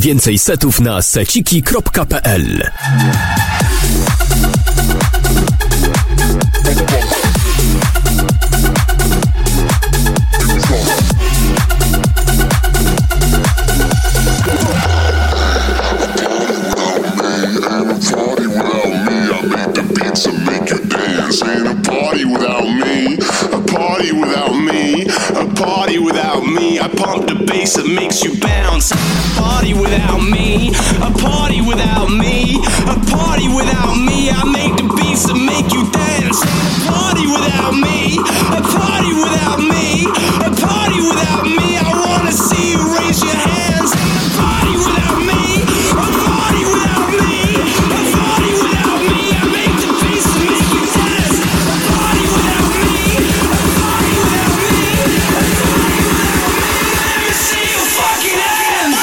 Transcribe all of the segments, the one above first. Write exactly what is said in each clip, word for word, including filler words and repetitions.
Więcej setów na seciki kropka p l. That makes you bounce. A party without me, a party without me, a party without me. I make the beats that make you dance. A party without me, a party without me, a party without me. I wanna see you raise your hands. A party without me, a party without me, a party without me. I make the beats that make you dance. A party without me, a party without me, a party without me. Let me see you fucking hands.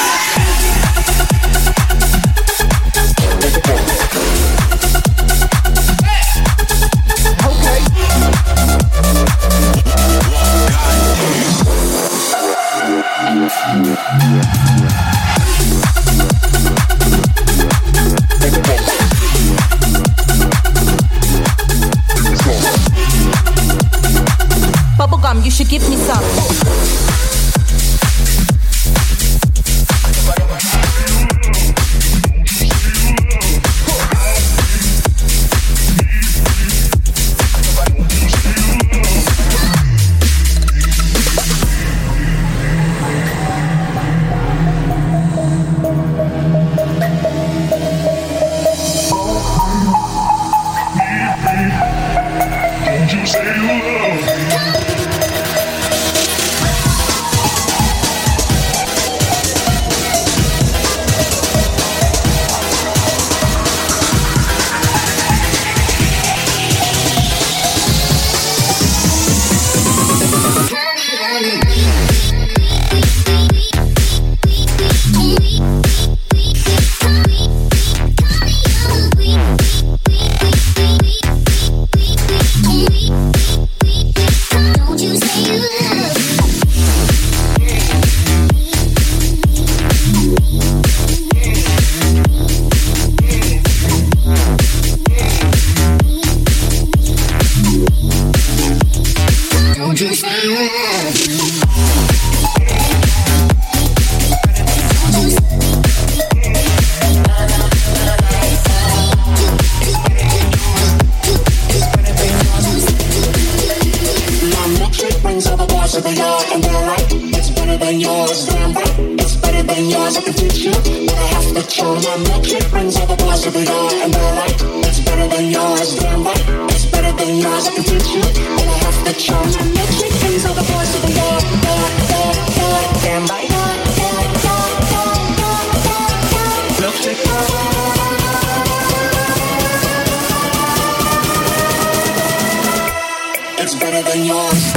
Bubblegum, you should give me some. It's better than yours.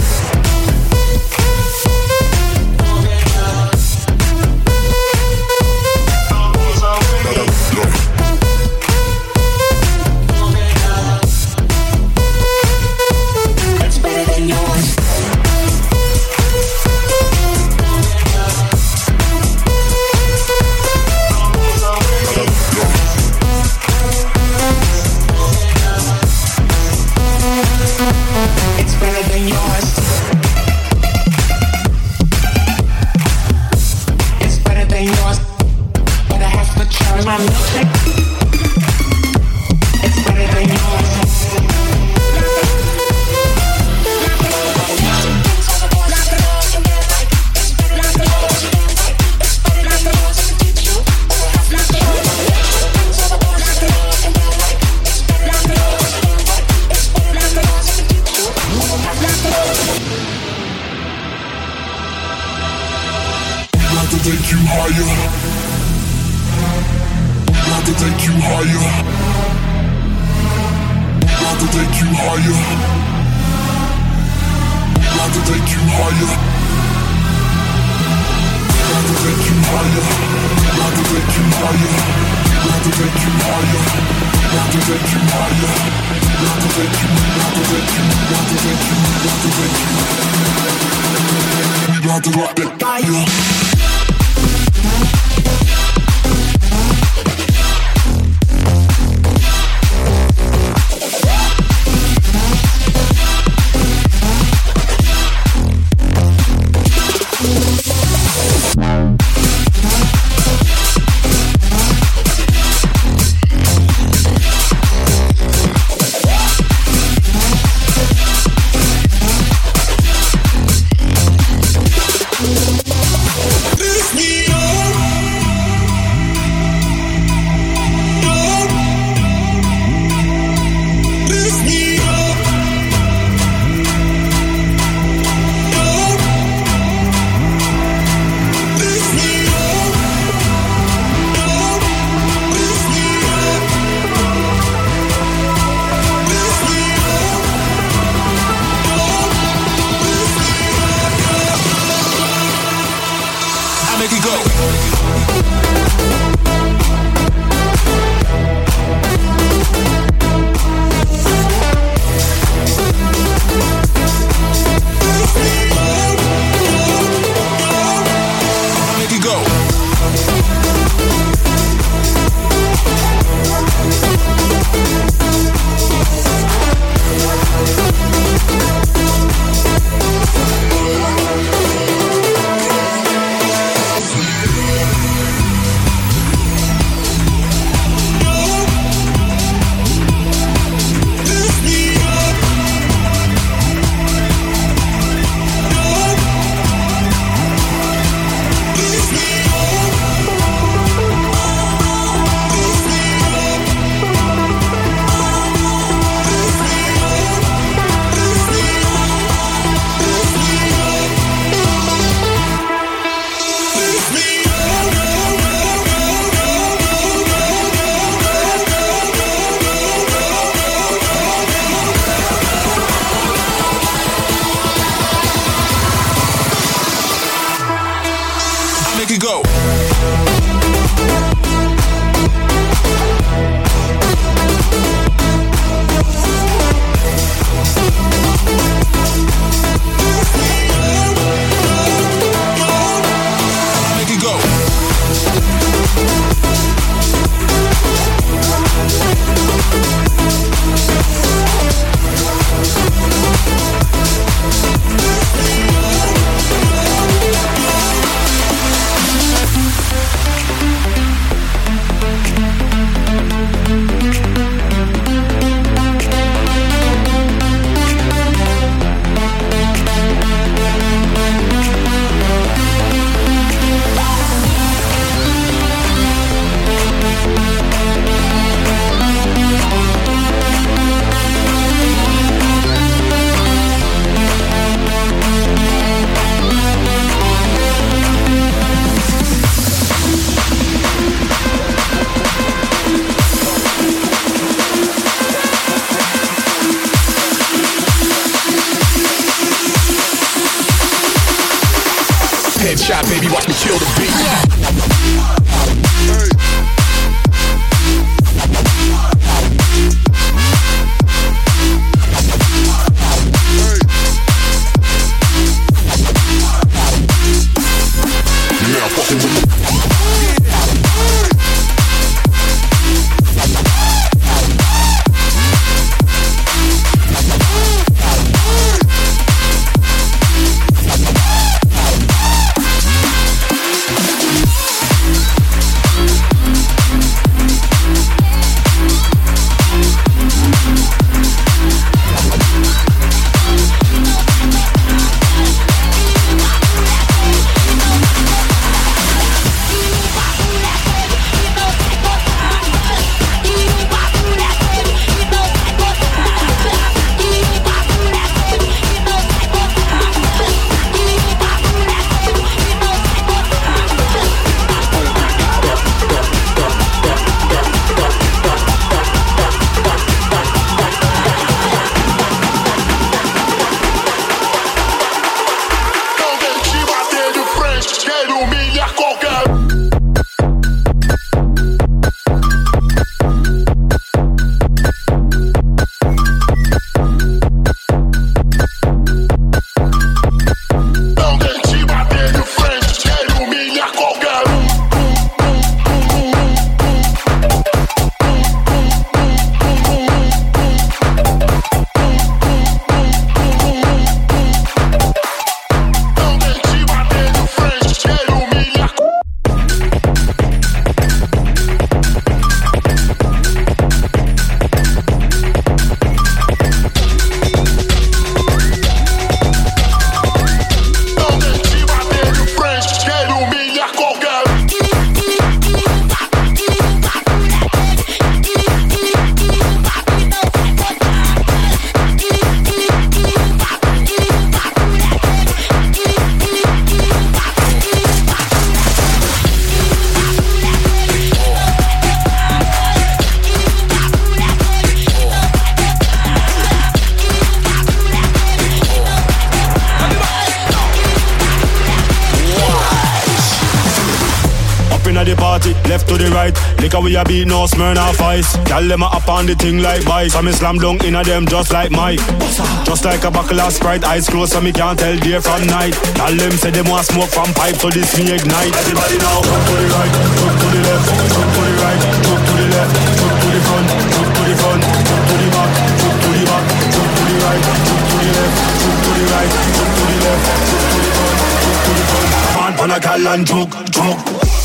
inna the party, left to the right. Liquor we a beat, no Smirnoff Ice. Gyal them a up on the thing like vice. I'm a slam dunk inna them just like Mike. Just like a buckle of Sprite, eyes closed so me can't tell day from night. Gyal them say them want smoke from pipe, so this me ignite. Everybody now, jump to the right, jump to the left, jump to the right, jump to the left, jump to the front, jump to the front, jump to the back, jump to the back, jump to the right, jump to the left, jump to the right, jump to the left, jump to the front, jump to the front. Come on, pan a gal and choke, choke.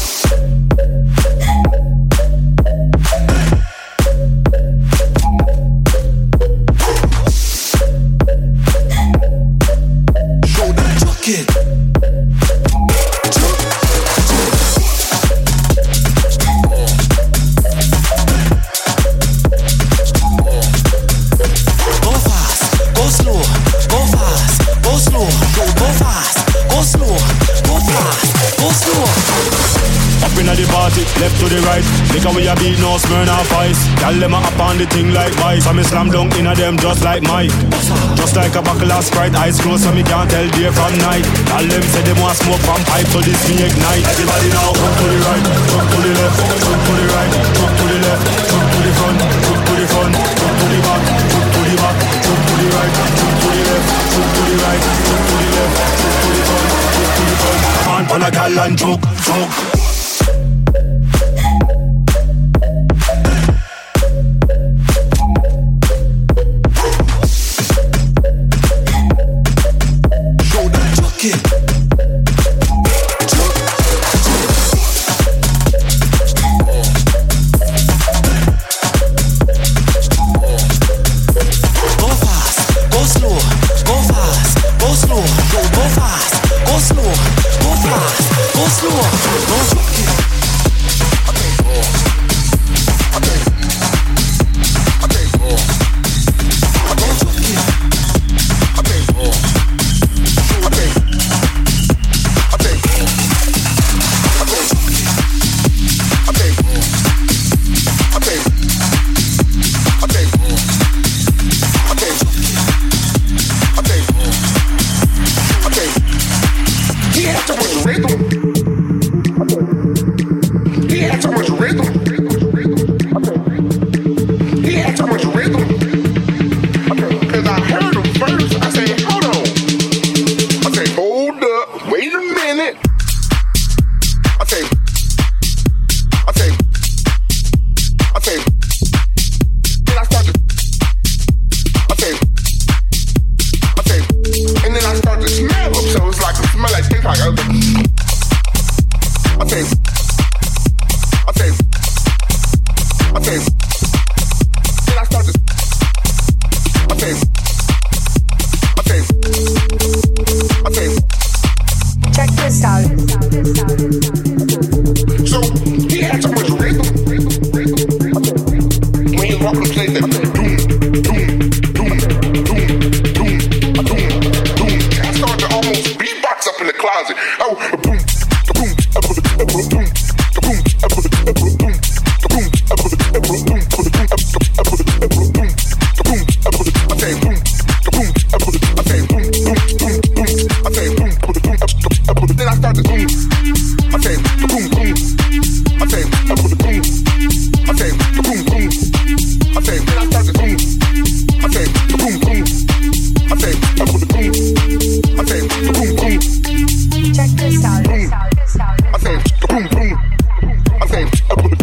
Left to the right, liquor we a beat, no Smirnoff Ice. Gyal them a up on the thing like vice. I'm a slam dunk inna them just like Mike. Just like a buckle of Sprite, eyes closed so me can't tell day from night. Gyal them say them want smoke from pipe, so this me ignite. Everybody now, jump to the right, jump to the left, jump to the right, jump to the left, jump to the front, jump to the front, jump to the back, jump to the back, jump to the right, jump to the left, jump to the right, jump to the left, jump to the front, jump to the front. Come on, pan a gal and choke, choke. Check this out. I say, boom, boom. I say,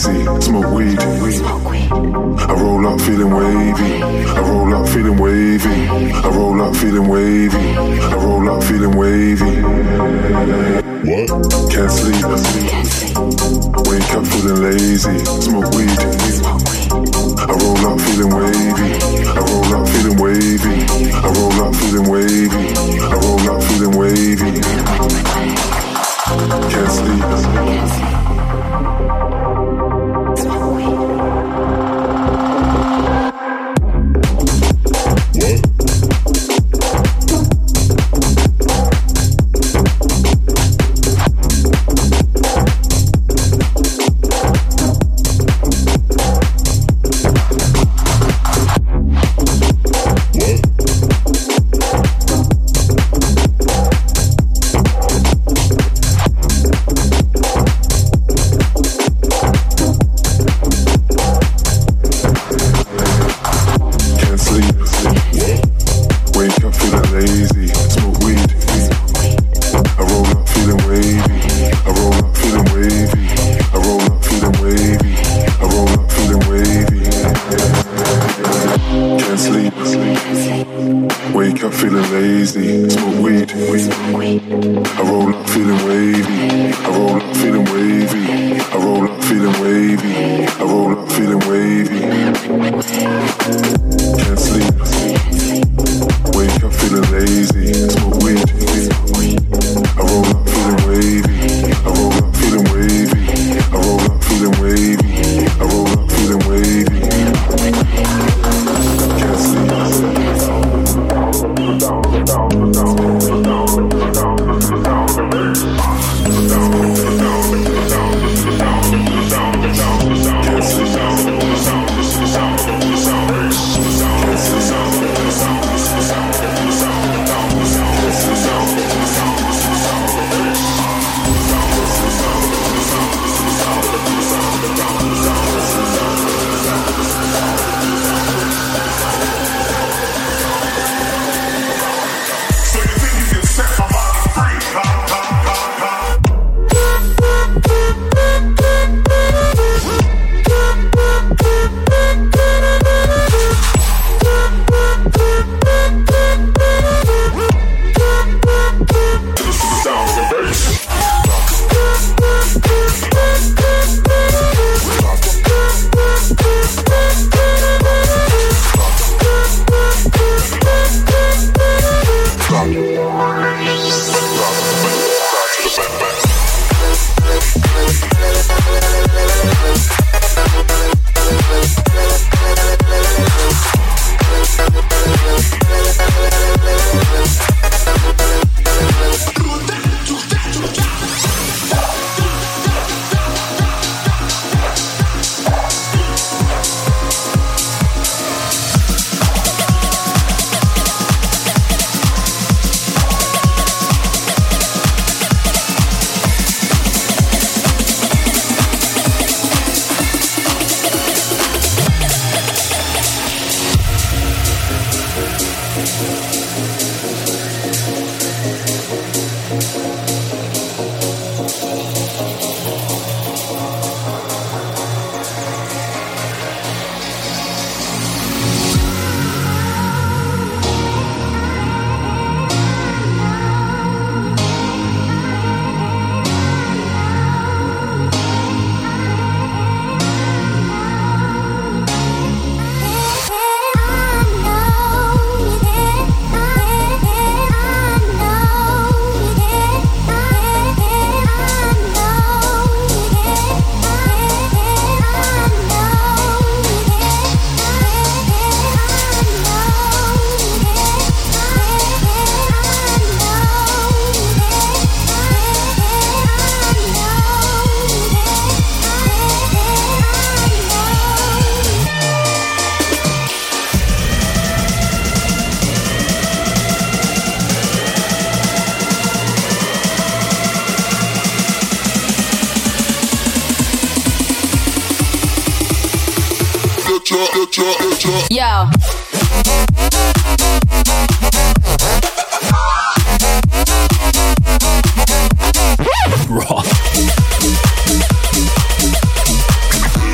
lazy, smoke weed. I roll up feeling wavy. I roll up feeling wavy. I roll up feeling wavy. I roll up feeling wavy. What? Can't sleep. Wake up feeling lazy, smoke weed. I roll up feeling wavy. I roll up feeling wavy. I roll up feeling wavy. I roll up feeling wavy. Can't sleep. Yo. Raw.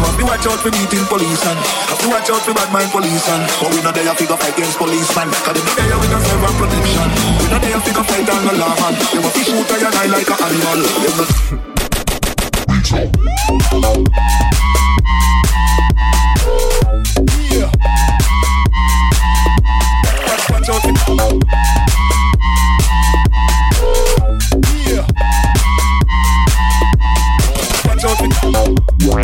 have to watch out for beating police and have to watch out for bad mind police and but we not there figure fight against policeman. Cause they not there with a serve and protection. We not there figure fight and no law man. They want to shoot at your eye like an animal. They not yeah. Watch, watch out for yeah. Watch out for yeah.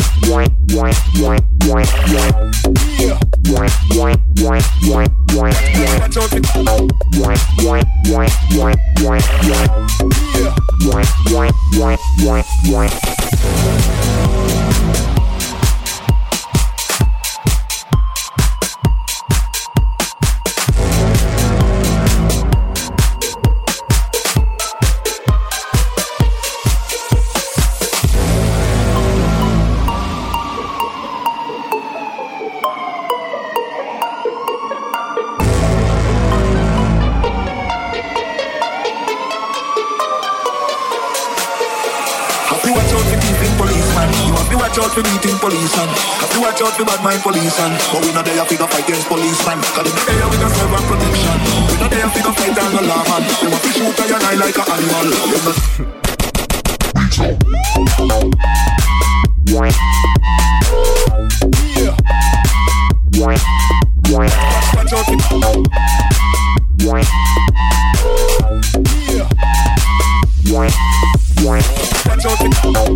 Watch out for beating police and have to watch out for bad mind police and but we not there figure fight against policeman. Cause they not there with a serve and protection. We not there figure fight and no law man. They want to shoot at your eye like an animal. They not yeah. Watch out for yeah. Watch out for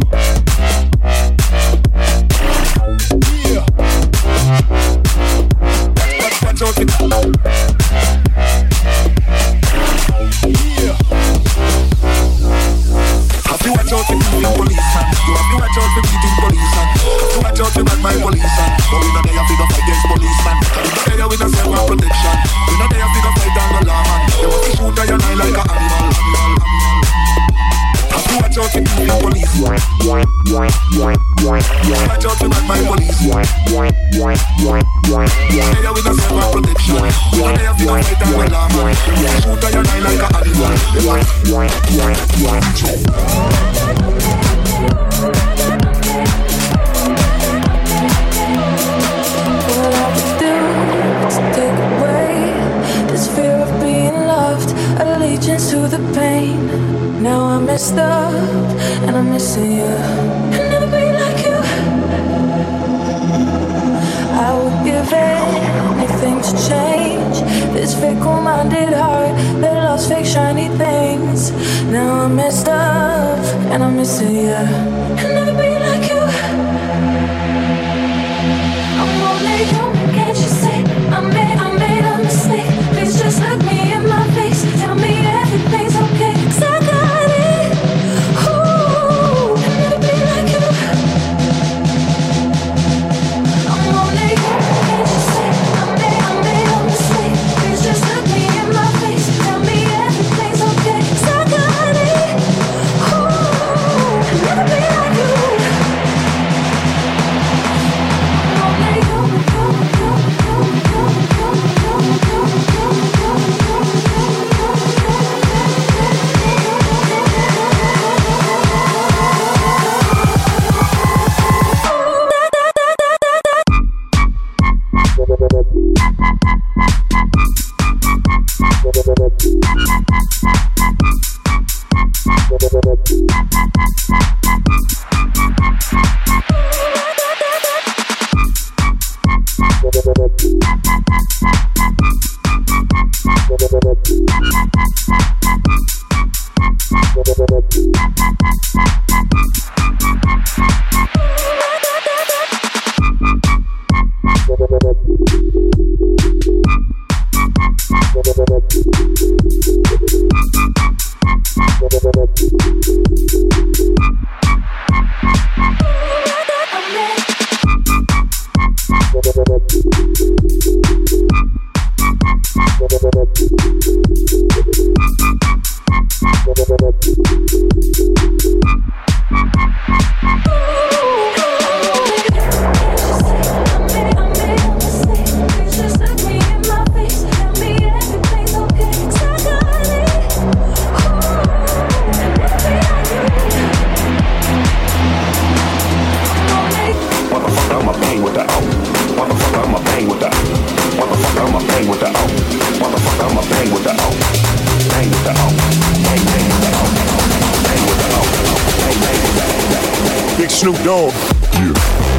Big Snoop Dogg. Yeah.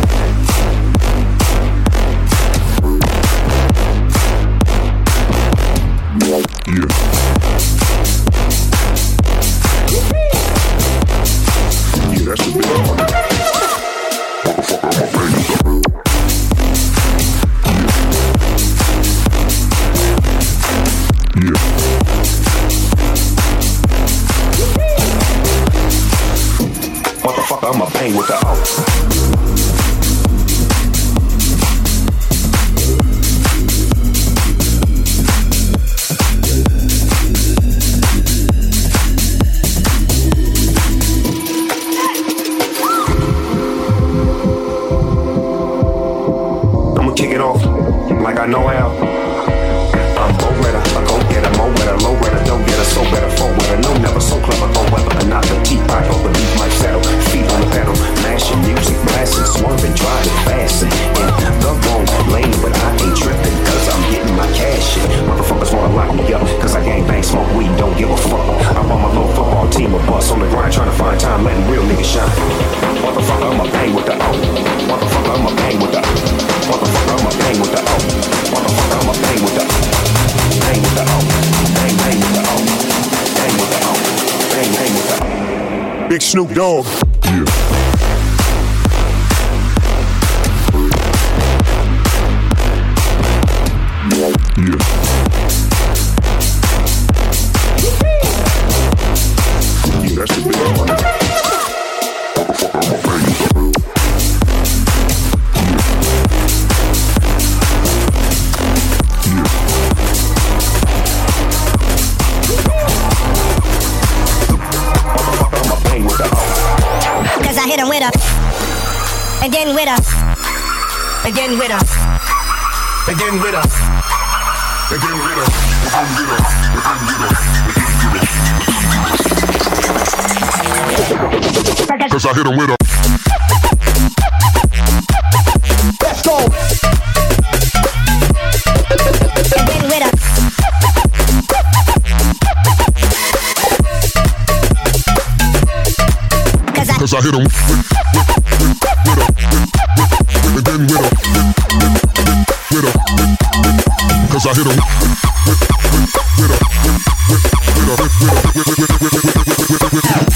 Yeah. Yeah, that's the big one. Motherfucker, I'ma bang with the out. Like I know how. I'm go better, I go get a mo better, low better, don't get a so better, four better, no never so clever, go weather, but not the deep I hope the beat might settle, feet on the pedal, mashing music, blasting, swerving, driving, fasting, in the wrong lane, but I ain't tripping, cause I'm getting my cash in. Motherfuckers wanna lock me up, cause I gang bang, smoke weed, don't give a fuck. I'm on my little football team, a bus on the grind, trying to find time, letting real niggas shine. Motherfucker, I'ma bang with the O. Motherfucker, I'ma bang with the O. Motherfucker, I'ma bang with the O. Motherfucker, I'ma bang with the O. Bang with the O. Bang, bang with the O. Bang with the O. Bang, bang with the O. Big Snoop Dogg. Yeah. Yeah. Yeah, that's the big one. Cause I hit him with a, again with a, again with a, again with a, again with a, cause I hit him with a. Let's go. Again with a. Cause I hit him with, with, with, with a, again with a, with a, cause I hit him with, with, with a, with, with a, with, with, with, with, with, with, with, with.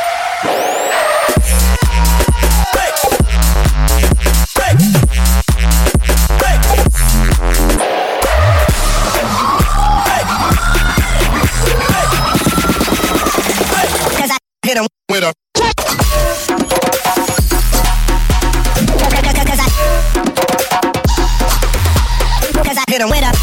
Cause I hit him with a. Hit him with a.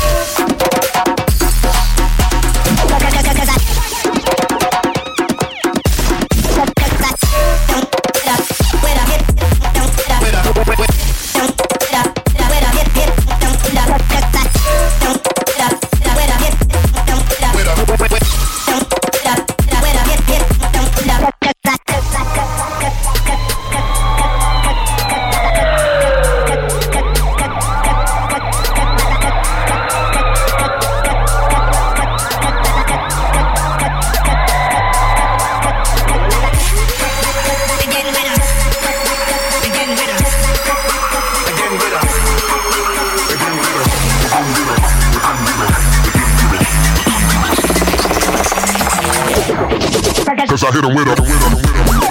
Cause I hit him with a, with a, with a.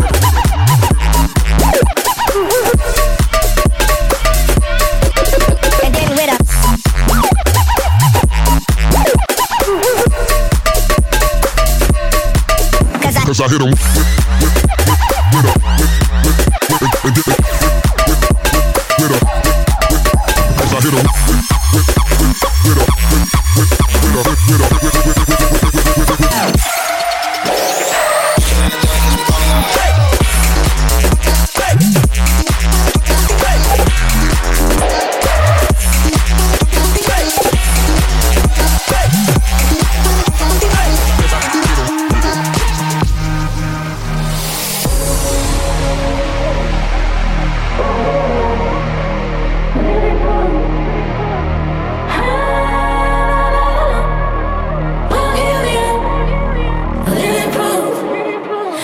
Again with a. Cause I hit him with, with, with, with a, with, with, with, with, with a, cause I hit him with, with, with, with a, with, with, with a, with, with a, with, with, with, with, with, with, with, with.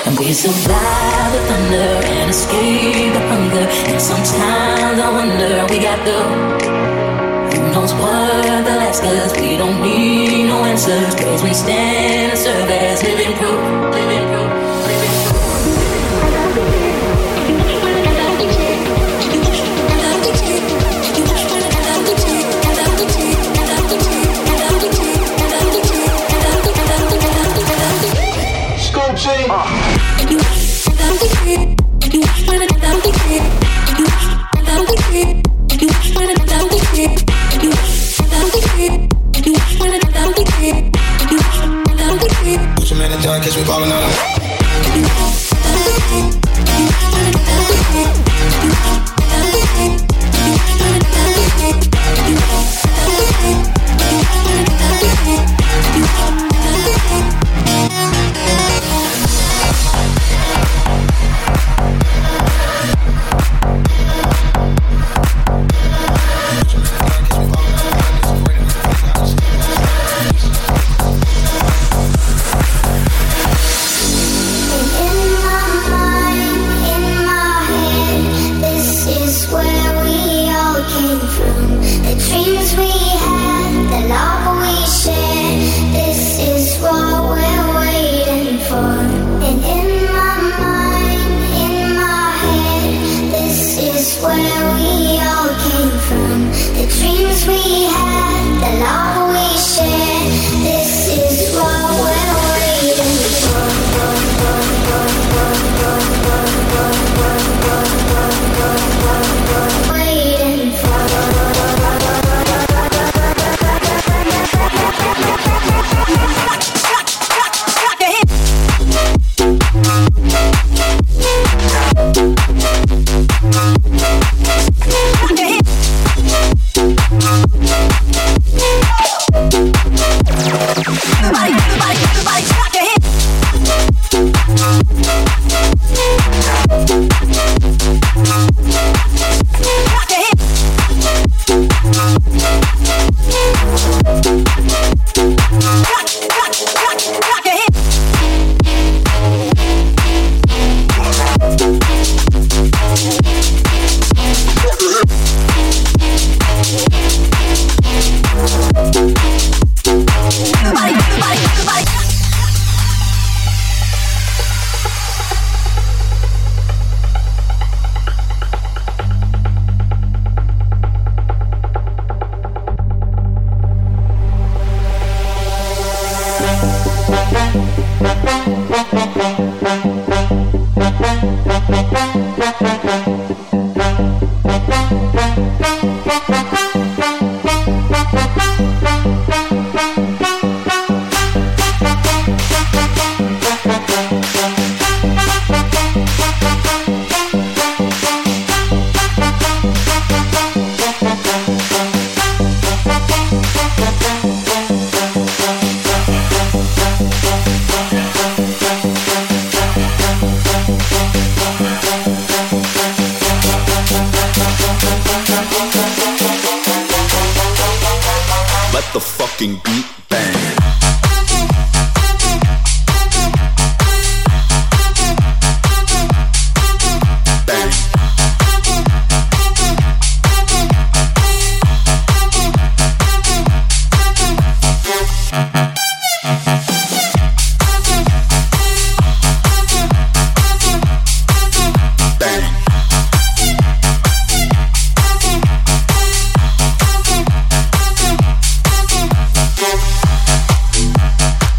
And we survive the thunder and escape the hunger. And sometimes I wonder we got the who knows what they'll ask us. We don't need no answers, cause we stand and serve as living proof, living proof. Put your man in the dark, catch me falling out of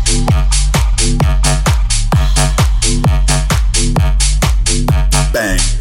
Bang.